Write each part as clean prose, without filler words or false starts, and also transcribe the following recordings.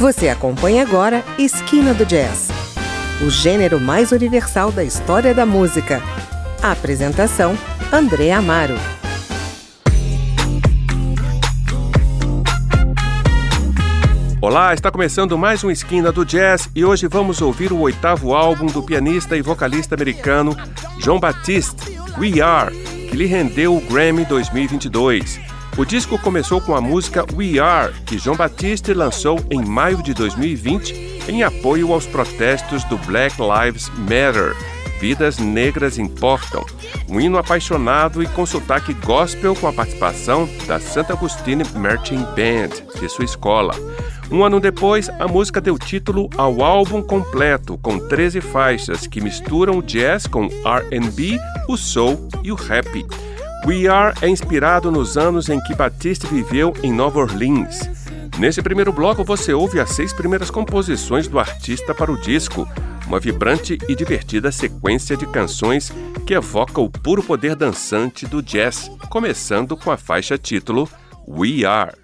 Você acompanha agora Esquina do Jazz, o gênero mais universal da história da música. A apresentação, André Amaro. Olá, está começando mais um Esquina do Jazz e hoje vamos ouvir o 8º álbum do pianista e vocalista americano Jon Batiste, We Are, que lhe rendeu o Grammy 2022. O disco começou com a música We Are, que Jon Batiste lançou em maio de 2020 em apoio aos protestos do Black Lives Matter, Vidas Negras Importam, um hino apaixonado e com sotaque gospel com a participação da St. Augustine Marching Band, de sua escola. Um ano depois, a música deu título ao álbum completo, com 13 faixas que misturam o jazz com R&B, o soul e o rap. We Are é inspirado nos anos em que Batiste viveu em Nova Orleans. Nesse primeiro bloco você ouve as 6 primeiras composições do artista para o disco, uma vibrante e divertida sequência de canções que evoca o puro poder dançante do jazz, começando com a faixa título We Are.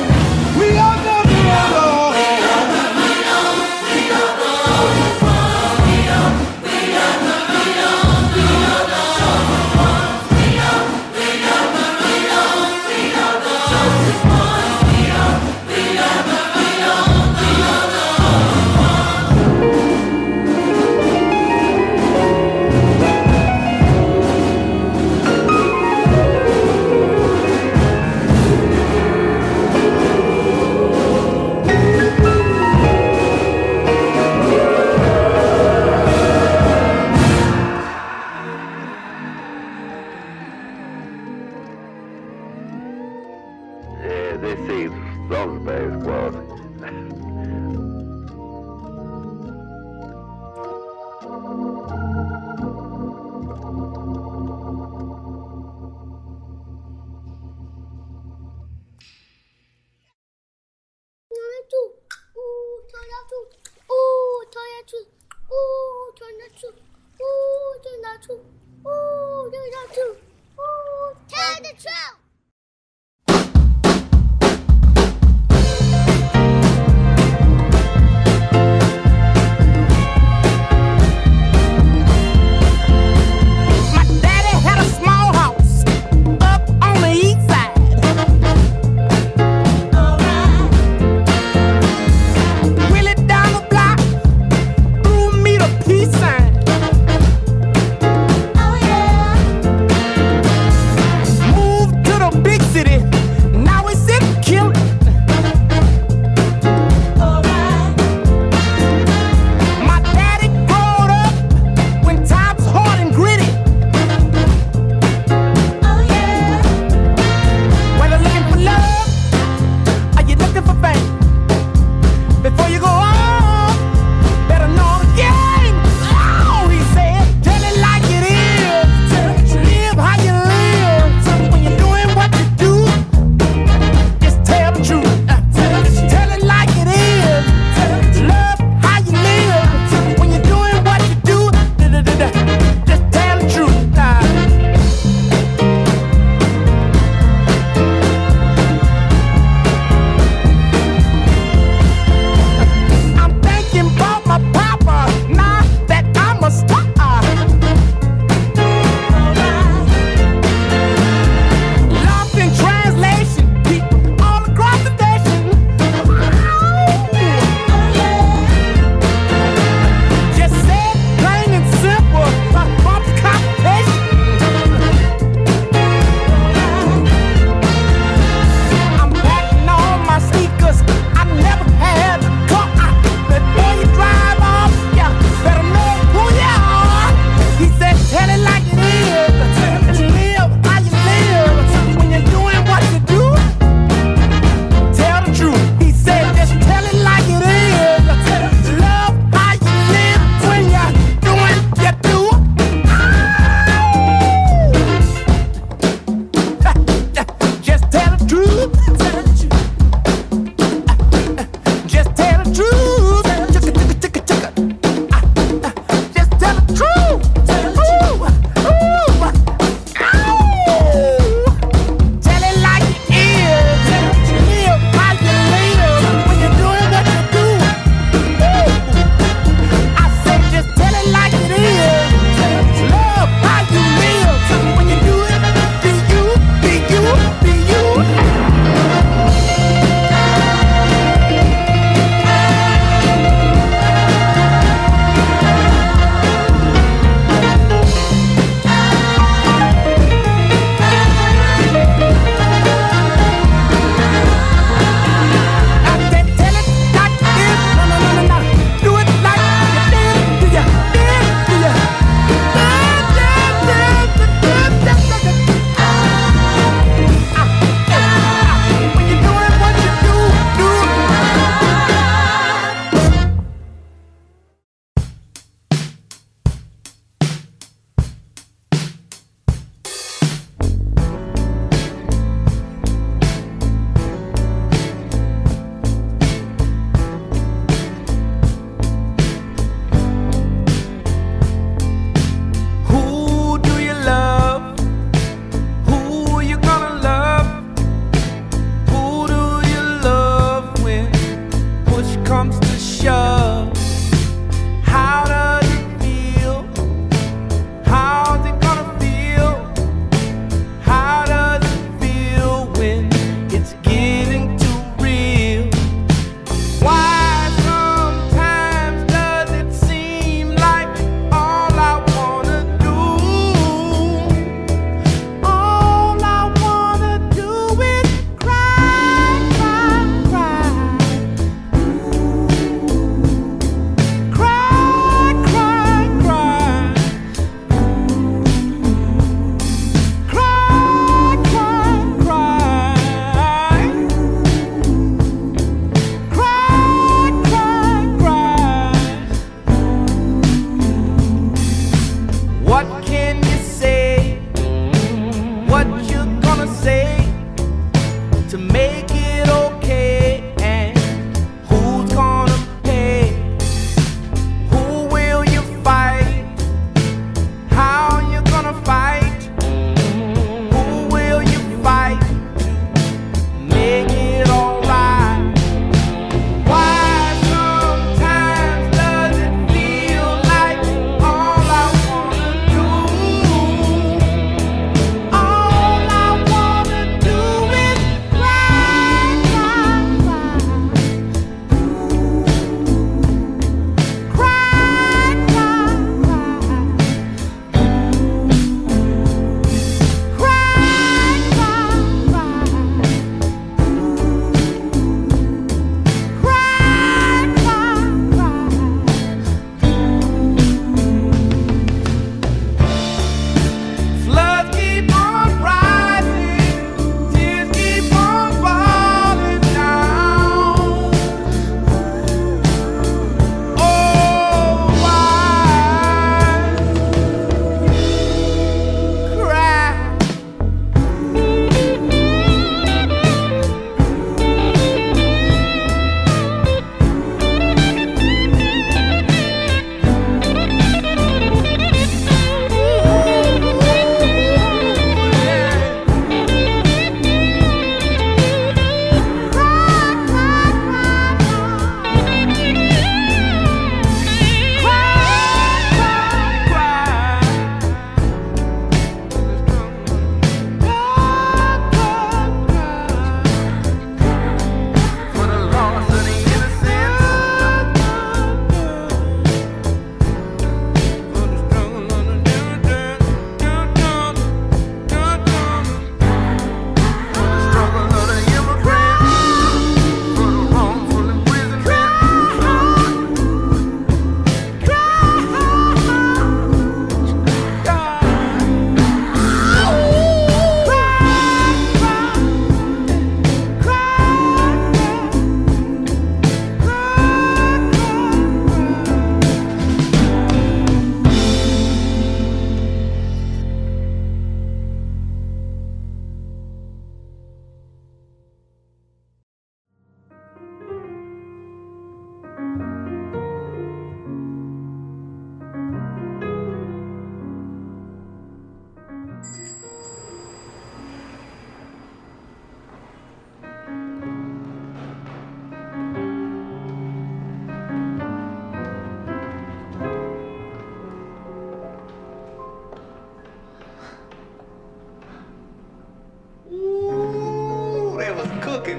We are never alone. turn the truth. Ooh, turn the truth. Ooh, turn the truth. Ooh, tell the truth. Moved to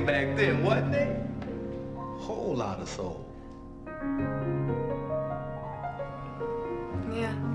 swing back then, wasn't they? Whole lot of soul. Yeah.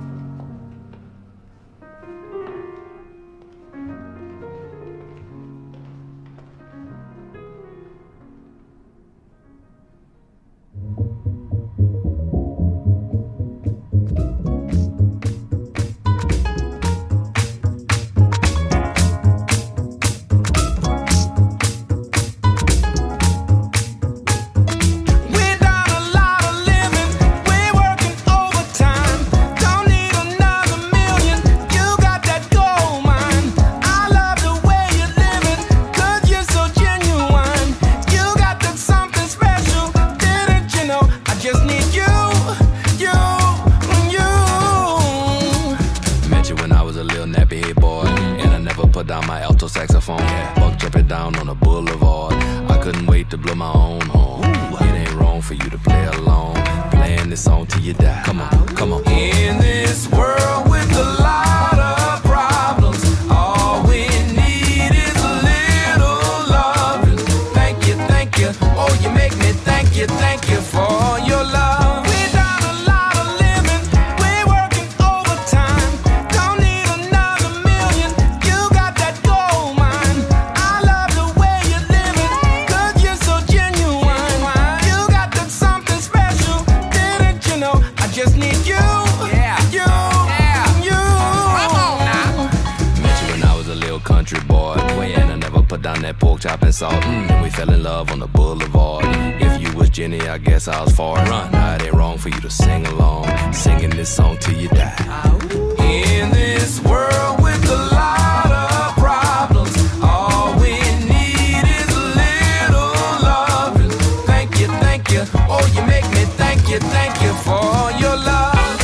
And we fell in love on the boulevard. If you was Jenny, I guess I was far. Run. Now it ain't wrong for you to sing along, singing this song till you die. In this world with a lot of problems, all we need is a little loving. Thank you, oh you make me thank you for your love.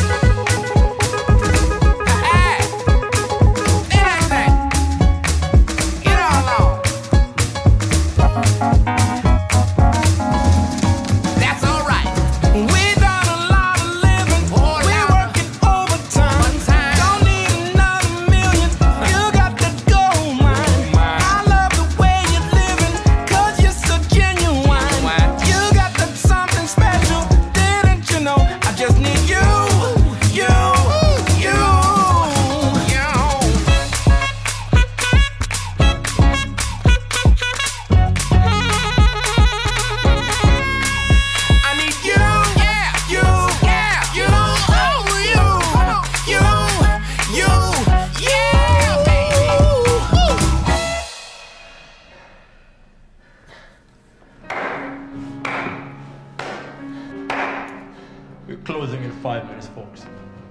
Closing in 5 minutes, folks.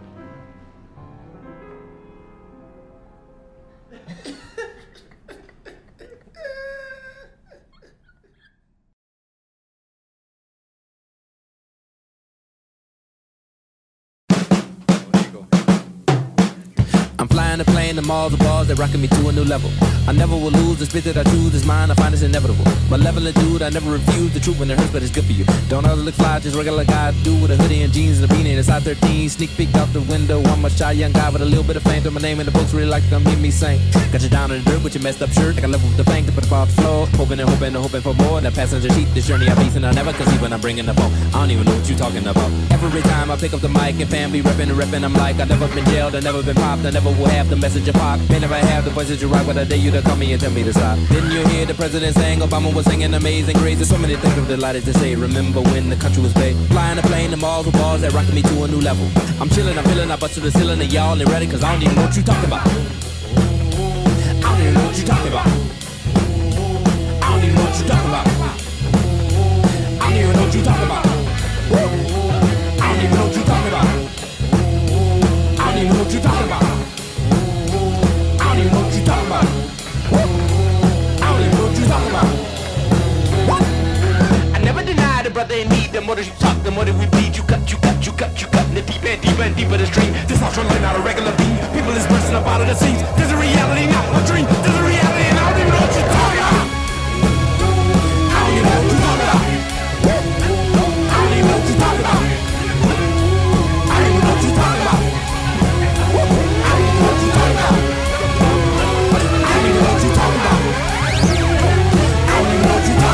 I'm flying a plane to malls, the bars that rocking me to a new level. I never will lose, the spit that I choose is mine, I find it's inevitable. Malevolent dude, I never refuse the truth when it hurts, but it's good for you. Don't ever look fly, just regular guy do with a hoodie and jeans and a beanie and a size 13. Sneak peek out the window, I'm a shy young guy with a little bit of fame. Throw my name and the folks really like to come hear me sing. Got you down in the dirt with your messed up shirt, like I left with the bank to put the bar on the floor. Hoping and hoping and hoping for more. In that passenger seat, this journey I face and I never conceive when I'm bringing the phone. I don't even know what you talking about. Every time I pick up the mic and family reppin' and reppin', I'm like I never been jailed, I never been popped, I never will have the message of pop. May never have the voice that you rock, but I dare you to call me and tell me to stop. Didn't you hear the president saying Obama was singing Amazing Grace? There's so many things I'm delighted to say. Remember when the country was big? Flying a plane to malls with bars that rockin' me to a new level. I'm chillin', I'm feelin', I bust to the ceiling and y'all ain't ready, cause I don't even know what you talking about. I don't even know what you talking about. I don't even know what you talking about. I don't even know what you talking about. I don't even know what you talking about. I don't even know what you talking about. I don't even know what you talking about. I don't even know what you talking about. What? I never denied a brother in need. The more that you talk, the more that we bleed. You cut, and the deeper and deeper and deeper the stream. This ultra light, not a regular beam. People is bursting up out of the seams. There's a reality, not a dream. There's a reality, and I don't even know what you're talking about. I don't even know what you're talking about. I don't even know what you're talking about. I don't even know what you're talking about. I don't even know what you're talking about. I don't even know what you're talking about. I don't even know what you're talking about.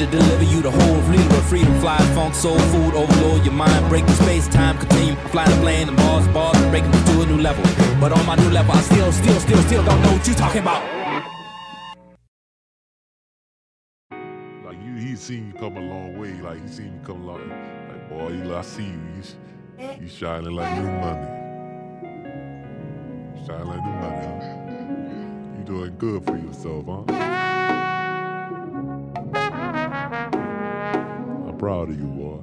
to deliver you the whole fleet of freedom. Fly, funk, soul food, overload your mind. Break the space, time, continue. Fly the plane, and bars, breaking me to a new level. But on my new level, I still don't know what you talking about. Like he seen you come a long way. Like he seen you come a long. Like boy, I see you. You shining like new money. Shining like new money, huh? You doing good for yourself, huh? I'm proud of you, boy.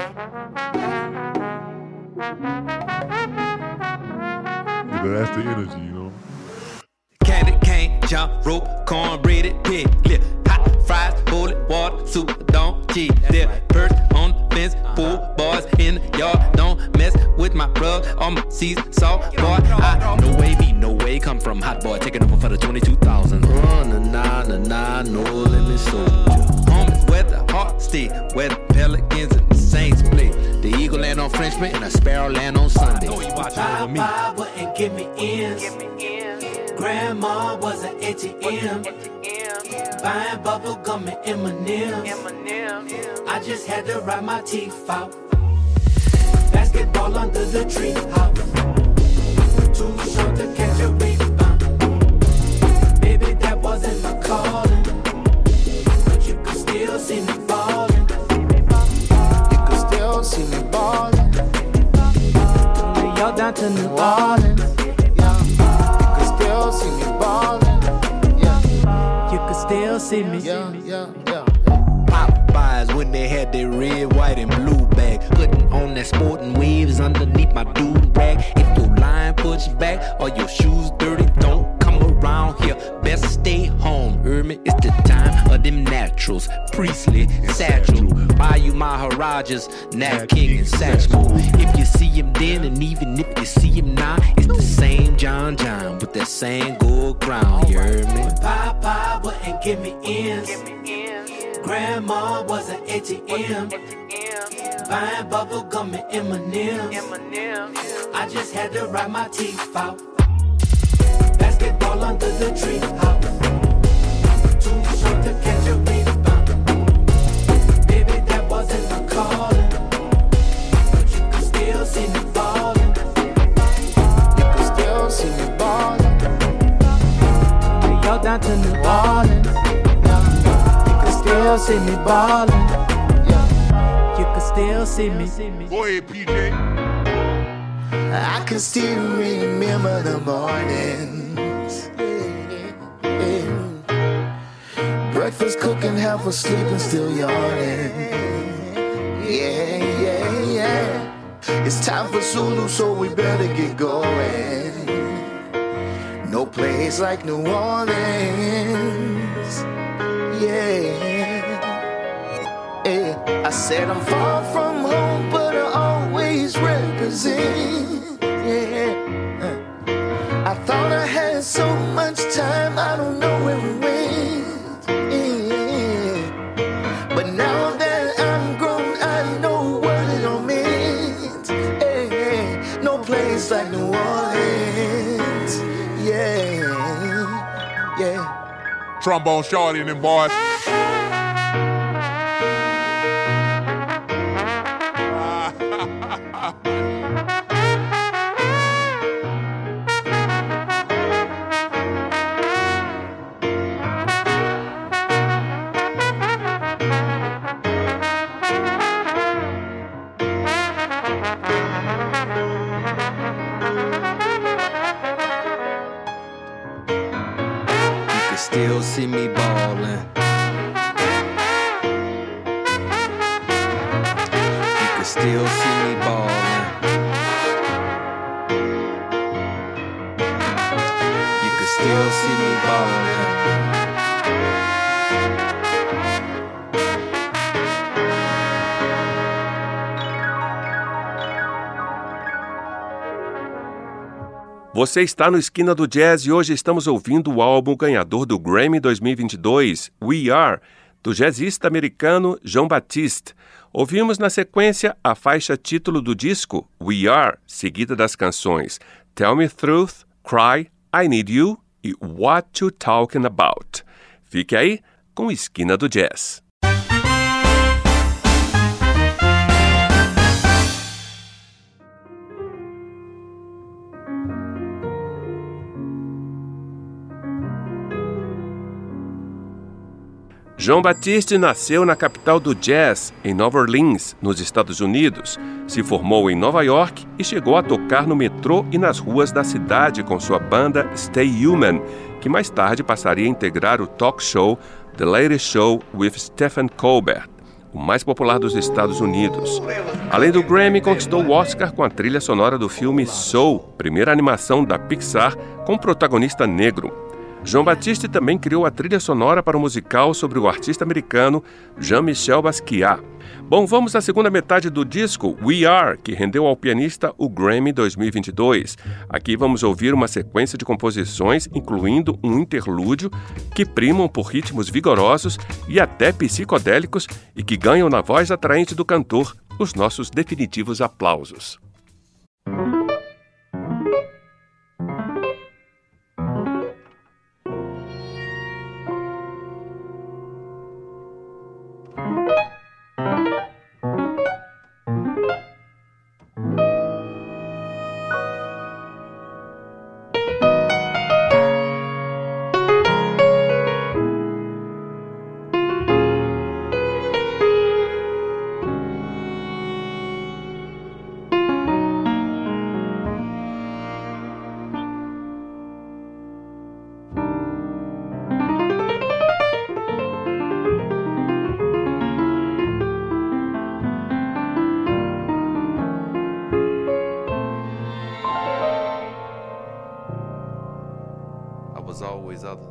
You know, that's the energy, you know. Candy cane, jump rope, cornbreaded pig lip, hot fries, bullet water, super don't cheat. There, perch on the fence, pool boys in the yard. Don't mess with my rug on my seesaw, boy. No way, come from hot boy, taking over for the 22,000. Nah, no limit soldier. Homies where the heart stay, where the Pelicans and the Saints play. The eagle land on Frenchman and a sparrow land on Sunday. Papa wouldn't give me ends. Grandma was an ATM. Buying bubble gum and M&M's. I just had to ride my teeth out. Basketball under the tree house. Too short to catch a rebound. Baby, that wasn't my calling, but you could still see me ballin'. You could still see me ballin'. Y'all down to New Orleans. See me ballin', yeah. You could still see me, yeah. Popeyes when they had their red, white, and blue bag, putting on that sporting waves underneath my dude rag. If your line push back or your shoes dirty, don't come around here. Best stay home. Ermi, it's the time of them naturals. Priestley, Satchel, Bayou Maharajas, Nat King, and Satchel. If you see him then, and even if you see him now, it's the same John with that same gold crown. You heard me? Papa wouldn't give me ends. Grandma was an ATM. Buying bubble gum and M&M's. I just had to ride my teeth out. Basketball under the tree house. Too short to catch a rebound. Baby, that wasn't my calling, but you could still see me ballin'. You could still see me ballin'. Y'all down to New Orleans. You could still see me ballin'. You could still see me. Go ahead, PJ. I can still remember the mornings. Breakfast cooking, half asleep and still yawning. Yeah. It's time for Zulu, so we better get going. No place like New Orleans. Yeah. I said I'm far from home, but I always represent. Yeah. I thought I had so much time, I don't know where we went. Yeah. But now that I'm grown, I know what it all meant. Yeah. No place like New Orleans. Yeah. Trombone Shorty and them boys. Still see me ballin'. You can still see me ballin'. You can still see me ballin'. Você está no Esquina do Jazz e hoje estamos ouvindo o álbum ganhador do Grammy 2022, We Are, do jazzista americano Jon Batiste. Ouvimos na sequência a faixa título do disco, We Are, seguida das canções Tell Me Truth, Cry, I Need You e What You Talking About. Fique aí com o Esquina do Jazz. João Batiste nasceu na capital do jazz, em Nova Orleans, nos Estados Unidos. Se formou em Nova York e chegou a tocar no metrô e nas ruas da cidade com sua banda Stay Human, que mais tarde passaria a integrar o talk show The Late Show with Stephen Colbert, o mais popular dos Estados Unidos. Além do Grammy, conquistou o Oscar com a trilha sonora do filme Soul, primeira animação da Pixar com protagonista negro. João Batiste também criou a trilha sonora para o musical sobre o artista americano Jean-Michel Basquiat. Bom, vamos à segunda metade do disco We Are, que rendeu ao pianista o Grammy 2022. Aqui vamos ouvir uma sequência de composições, incluindo um interlúdio, que primam por ritmos vigorosos e até psicodélicos e que ganham na voz atraente do cantor os nossos definitivos aplausos. Was always other.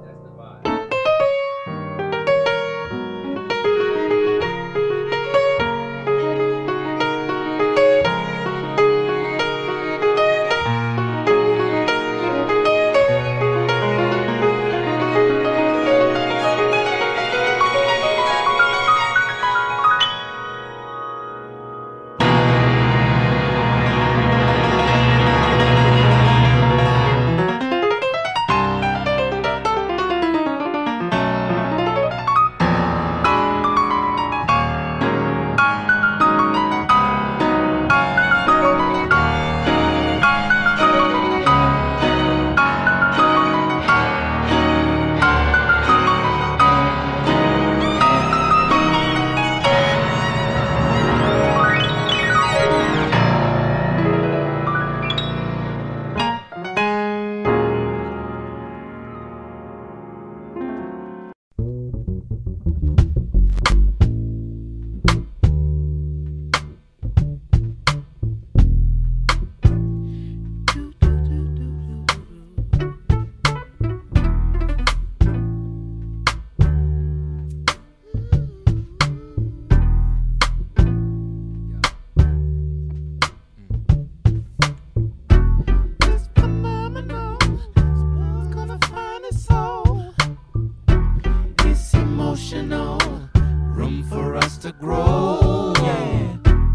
Room for us to grow, yeah.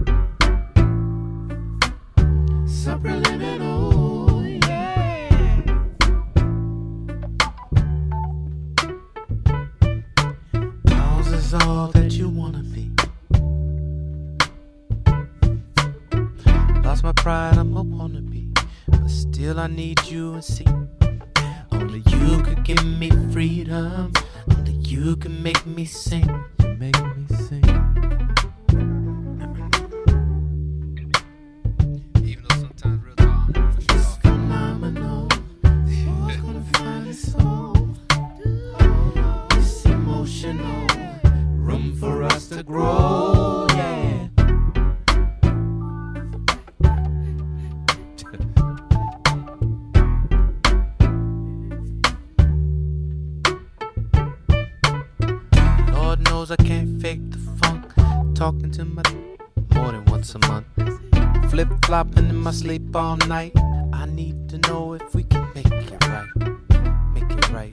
Subliminal, yeah. Ours is all that you wanna be. Lost my pride, I'm a wannabe, but still I need you and see. Only you could give me freedom. Only you can make me sing. You make me sing. Even though sometimes real talk, it's phenomenal. Who's gonna find his soul? It's emotional. Room for us to grow, yeah. I can't fake the funk. Talking to my more than once a month. Flip-flopping in my sleep all night. I need to know if we can make it right. Make it right.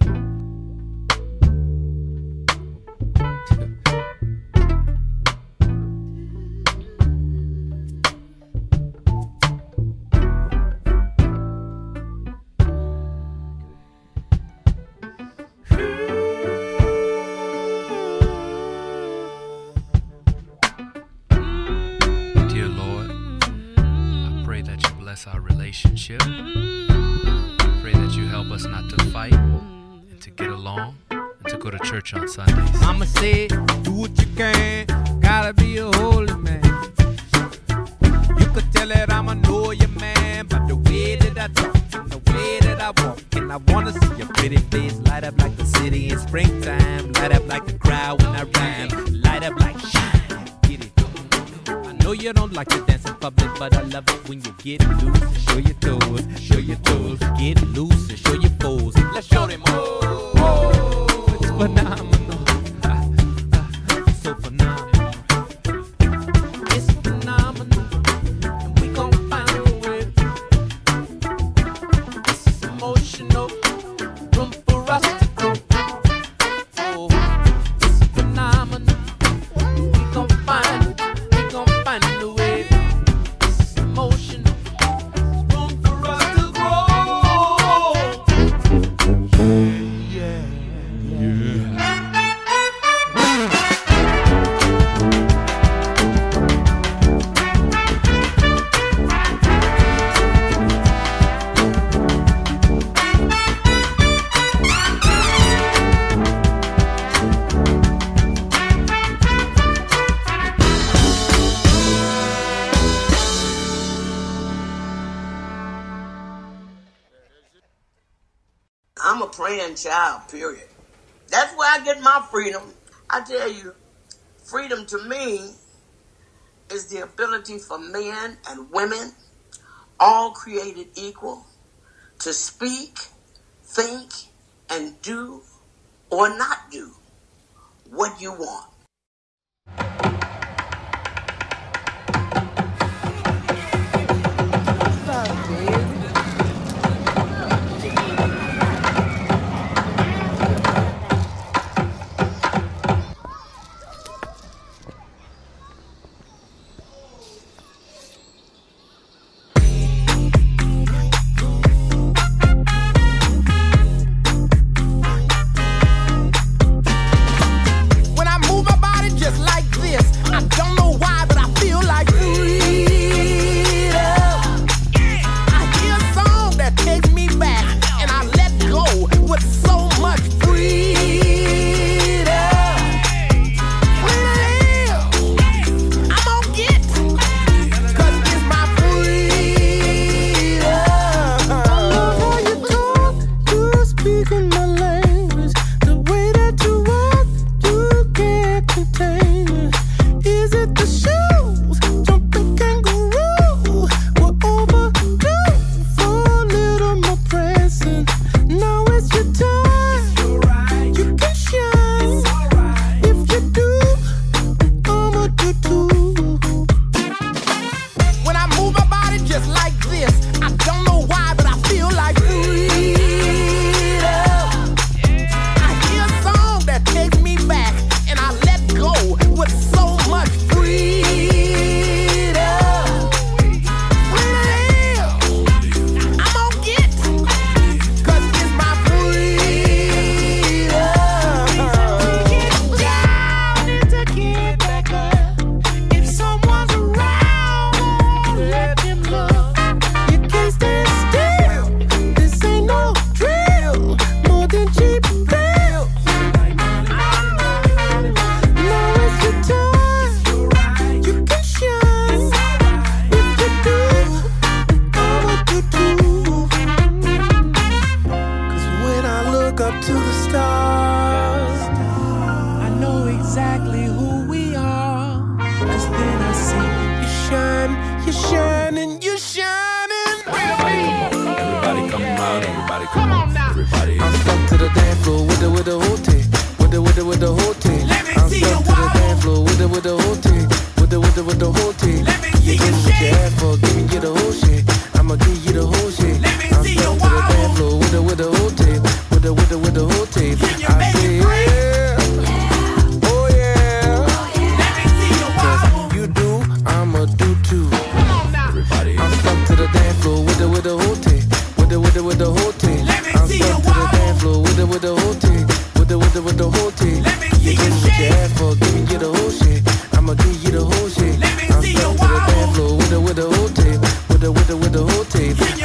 Our relationship. Pray that you help us not to fight and to get along to go to church on Sundays. Mama said, do what you can, gotta be a holy man. You could tell that I'm a know your man by the way that I talk and the way that I walk. And I wanna see your pretty face light up like the city in springtime, light up like the crowd when I rhyme, light up like shine. Get it? I know you don't like to dance in public, but I love it when you get loose and show your toes, show your toes. Get loose and show your foes. Let's show them all. Oh, it's phenomenal. So phenomenal. It's phenomenal. And we gon' find a way. This is emotional. Room for us to grow. Oh, it's phenomenal. We gon' find a way. This is emotional. Room for us to grow. Yeah. I'm a praying child, period. That's where I get my freedom. I tell you, freedom to me is the ability for men and women, all created equal, to speak, think, and do or not do what you want.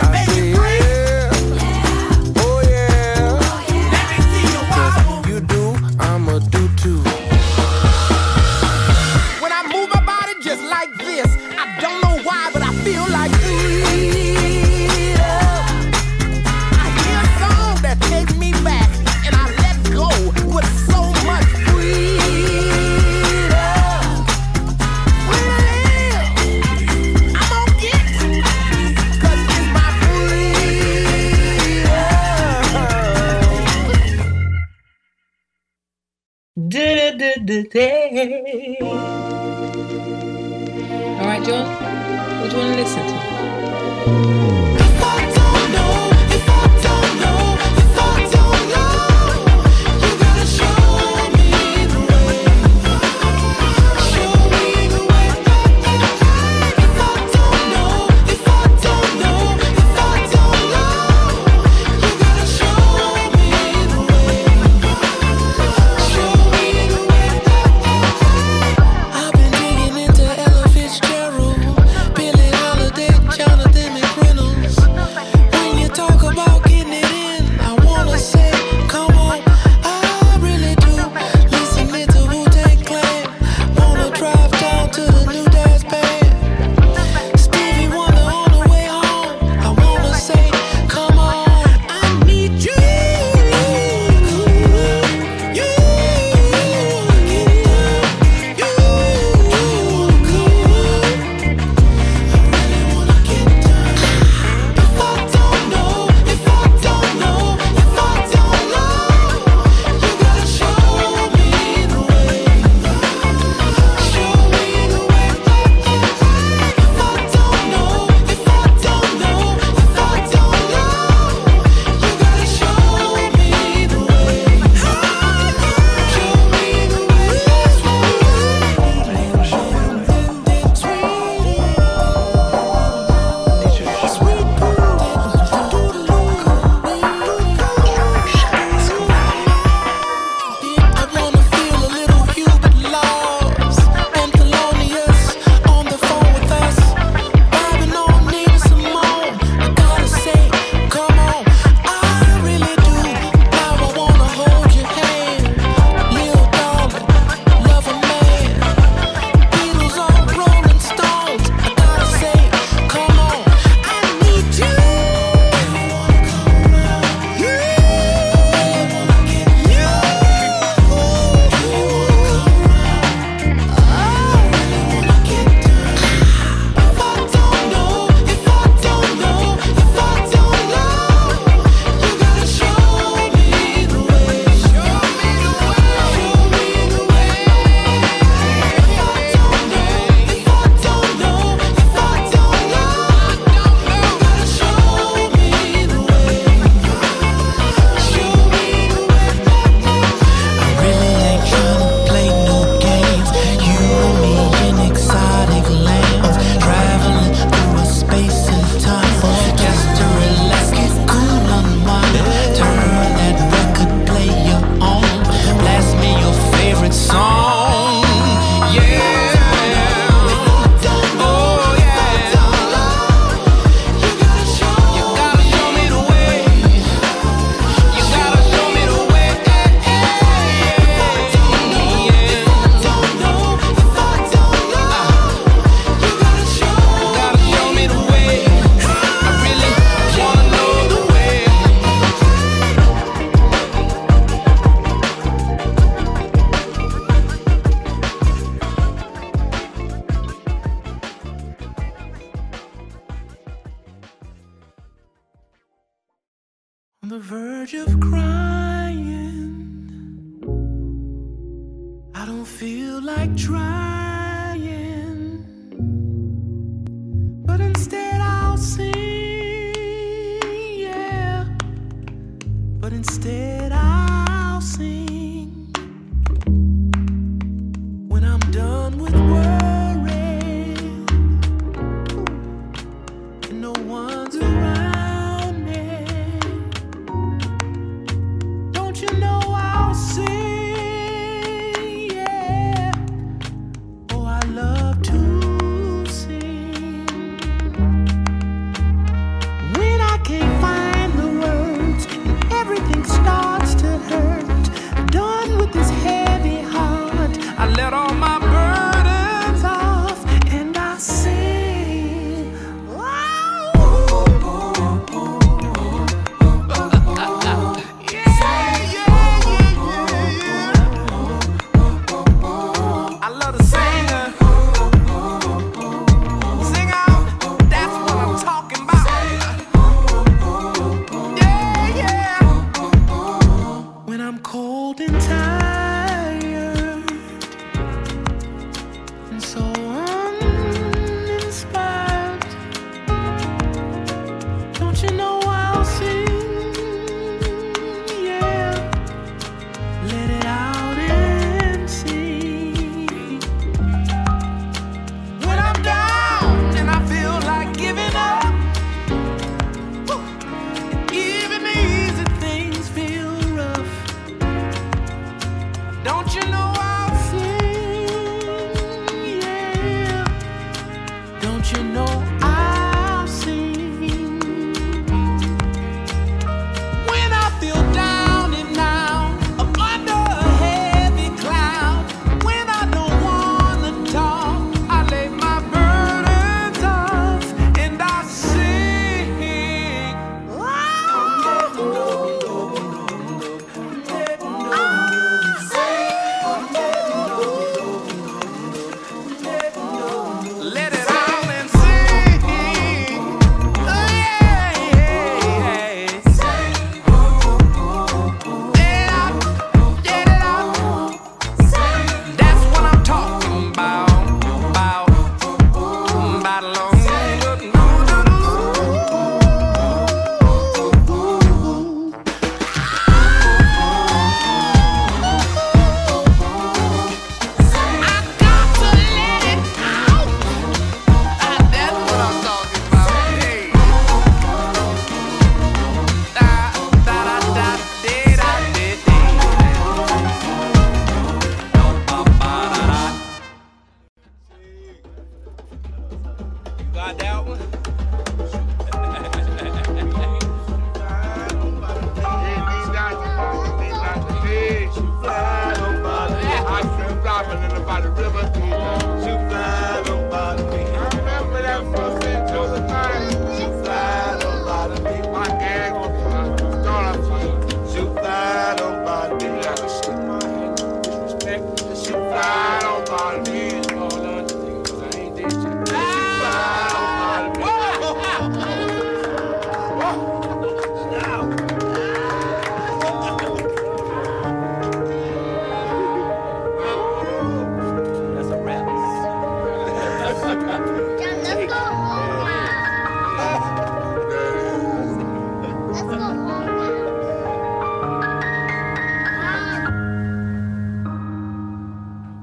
You do the day. All right, John, what do you want to listen to? On the verge of crying, I don't feel like trying, but instead I'll sing, yeah, but instead I'll sing. When I'm done with worrying and no one's around me, don't you know I'll sing, yeah. Oh, I love to sing. When I can't find the words and everything starts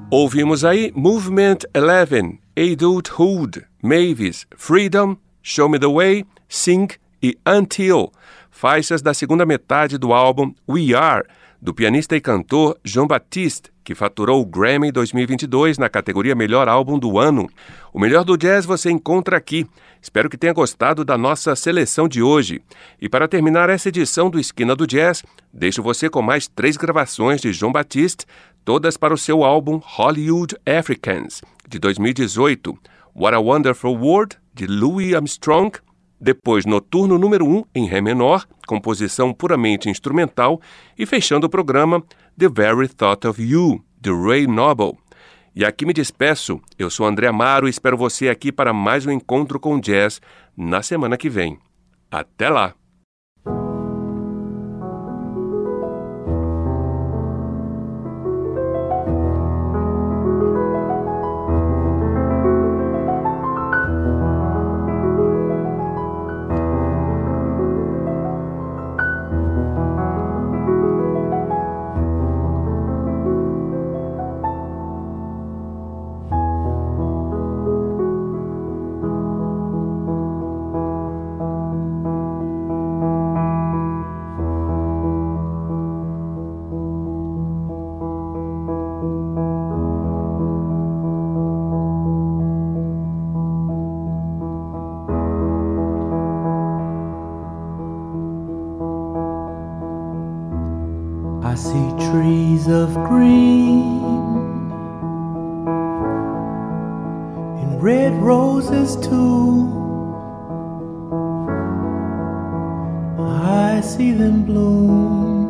Ouvimos aí Movement 11, Adulthood, Mavis, Freedom, Show Me The Way, Sing e Until, faixas da segunda metade do álbum We Are, do pianista e cantor Jon Batiste, que faturou o Grammy 2022 na categoria Melhor Álbum do Ano. O melhor do jazz você encontra aqui. Espero que tenha gostado da nossa seleção de hoje. E para terminar essa edição do Esquina do Jazz, deixo você com mais 3 gravações de Jon Batiste, todas para o seu álbum Hollywood Africans, de 2018, What a Wonderful World, de Louis Armstrong, depois Noturno número 1 em Ré menor, composição puramente instrumental, e fechando o programa The Very Thought of You, de Ray Noble. E aqui me despeço, eu sou André Amaro e espero você aqui para mais um encontro com jazz na semana que vem. Até lá! I see trees of green and red roses too. I see them bloom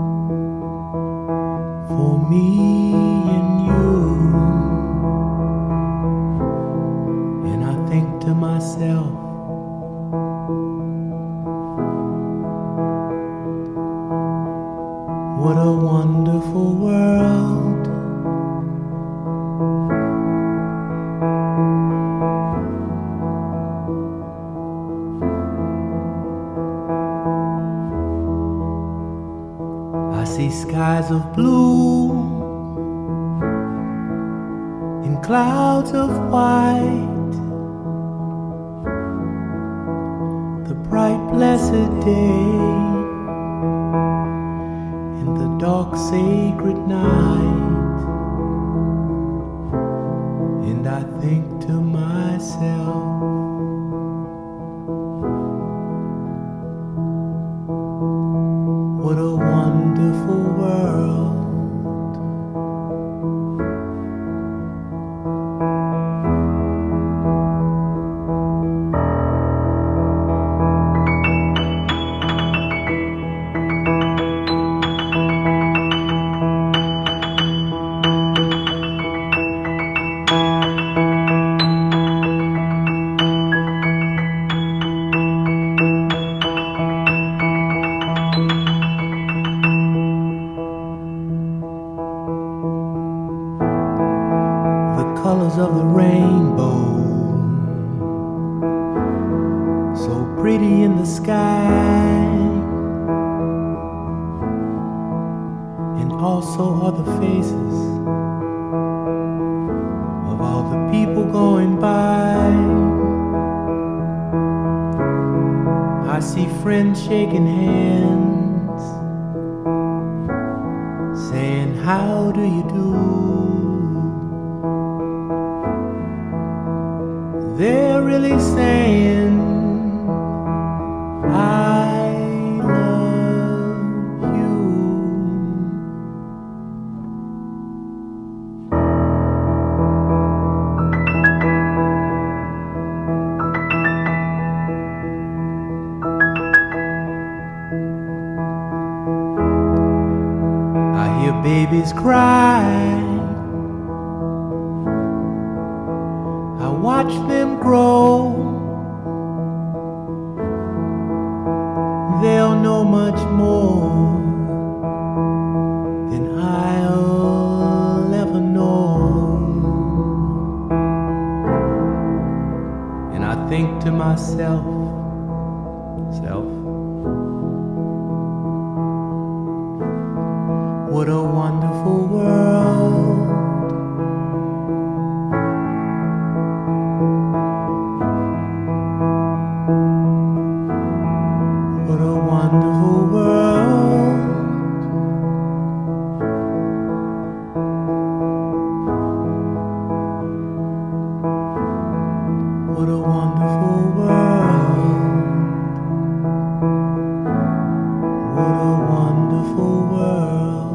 for me and you. And I think to myself, what a wonderful world. I see skies of blue and clouds of white, the bright blessed day, dark sacred night. And I think to myself, what a wonderful world. Colors of the rainbow, so pretty in the sky, and also are the faces of all the people going by. I see friends shaking hands, saying, how do you do? They're really saying, I love you. I hear babies cry, watch them grow. They'll know much more than I'll ever know. And I think to myself, what a wonderful world. wonderful world. What a wonderful world. What a wonderful world.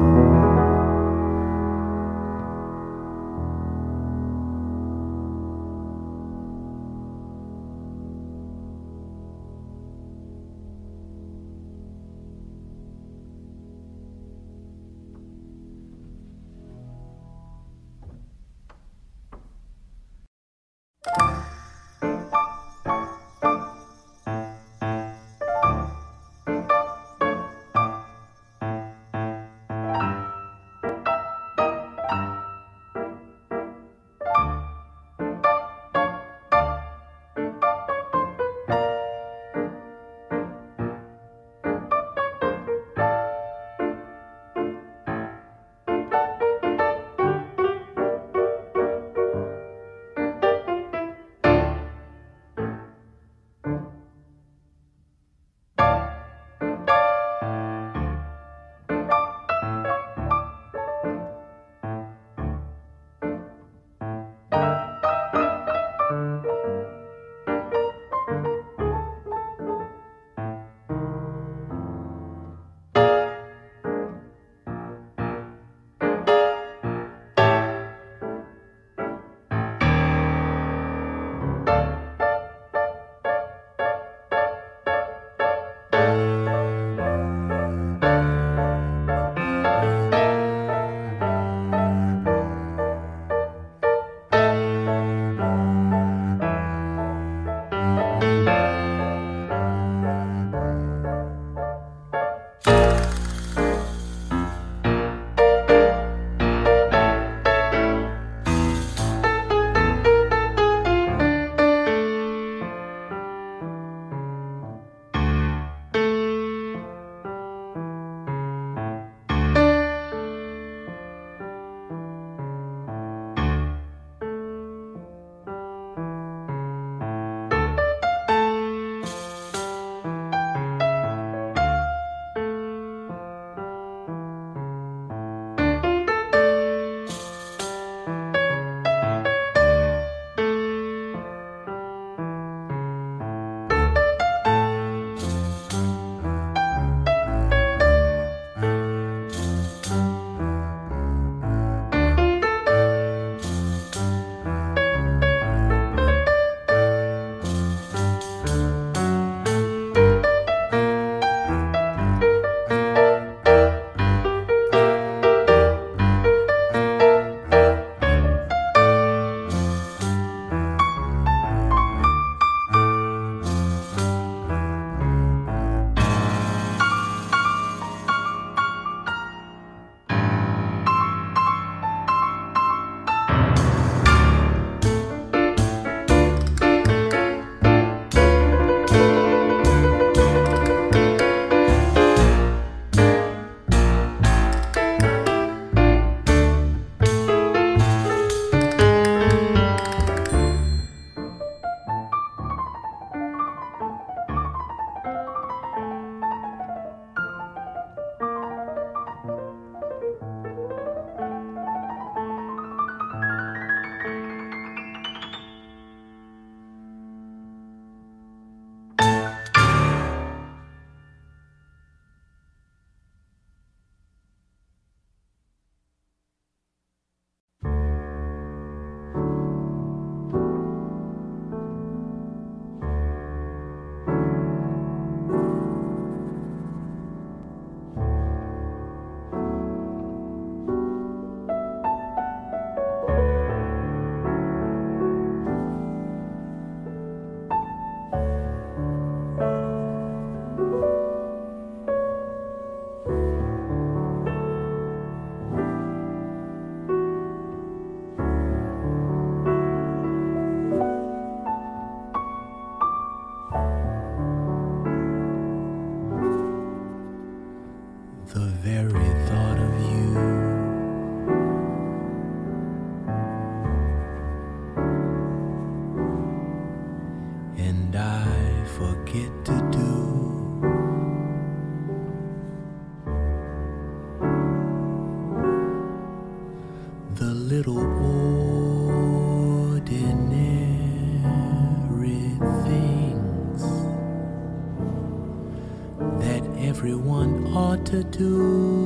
everyone ought to do.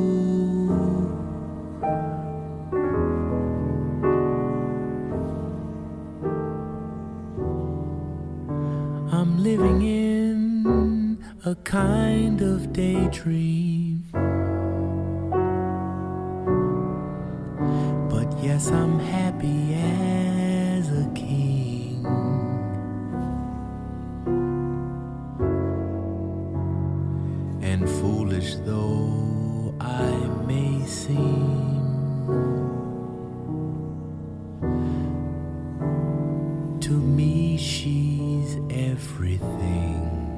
I'm living in a kind of daydream, but yes, I'm happy as a king. And foolish though I may seem, to me she's everything.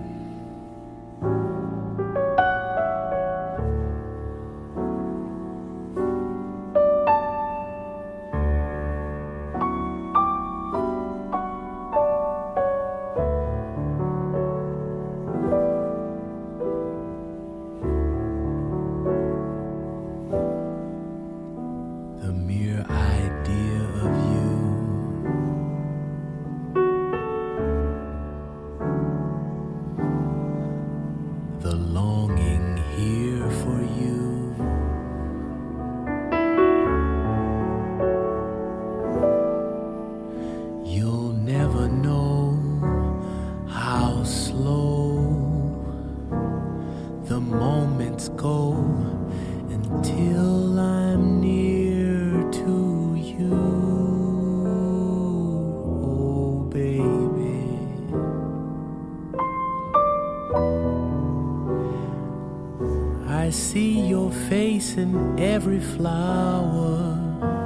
I see your face in every flower,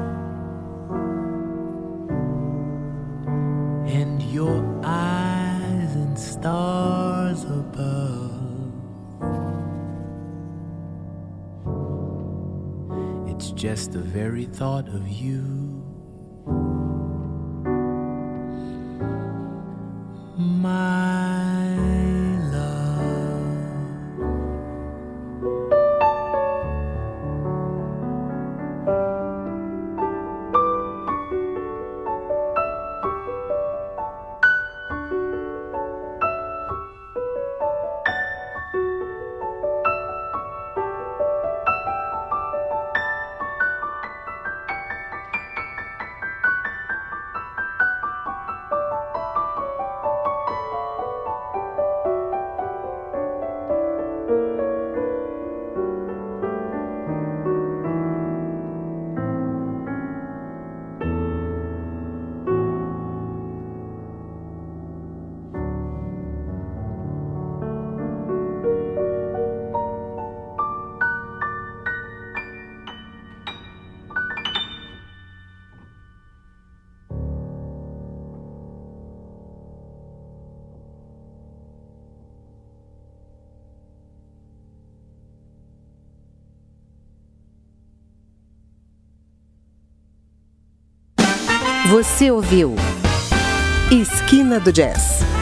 and your eyes in stars above. It's just the very thought of you, my Você ouviu Esquina do Jazz.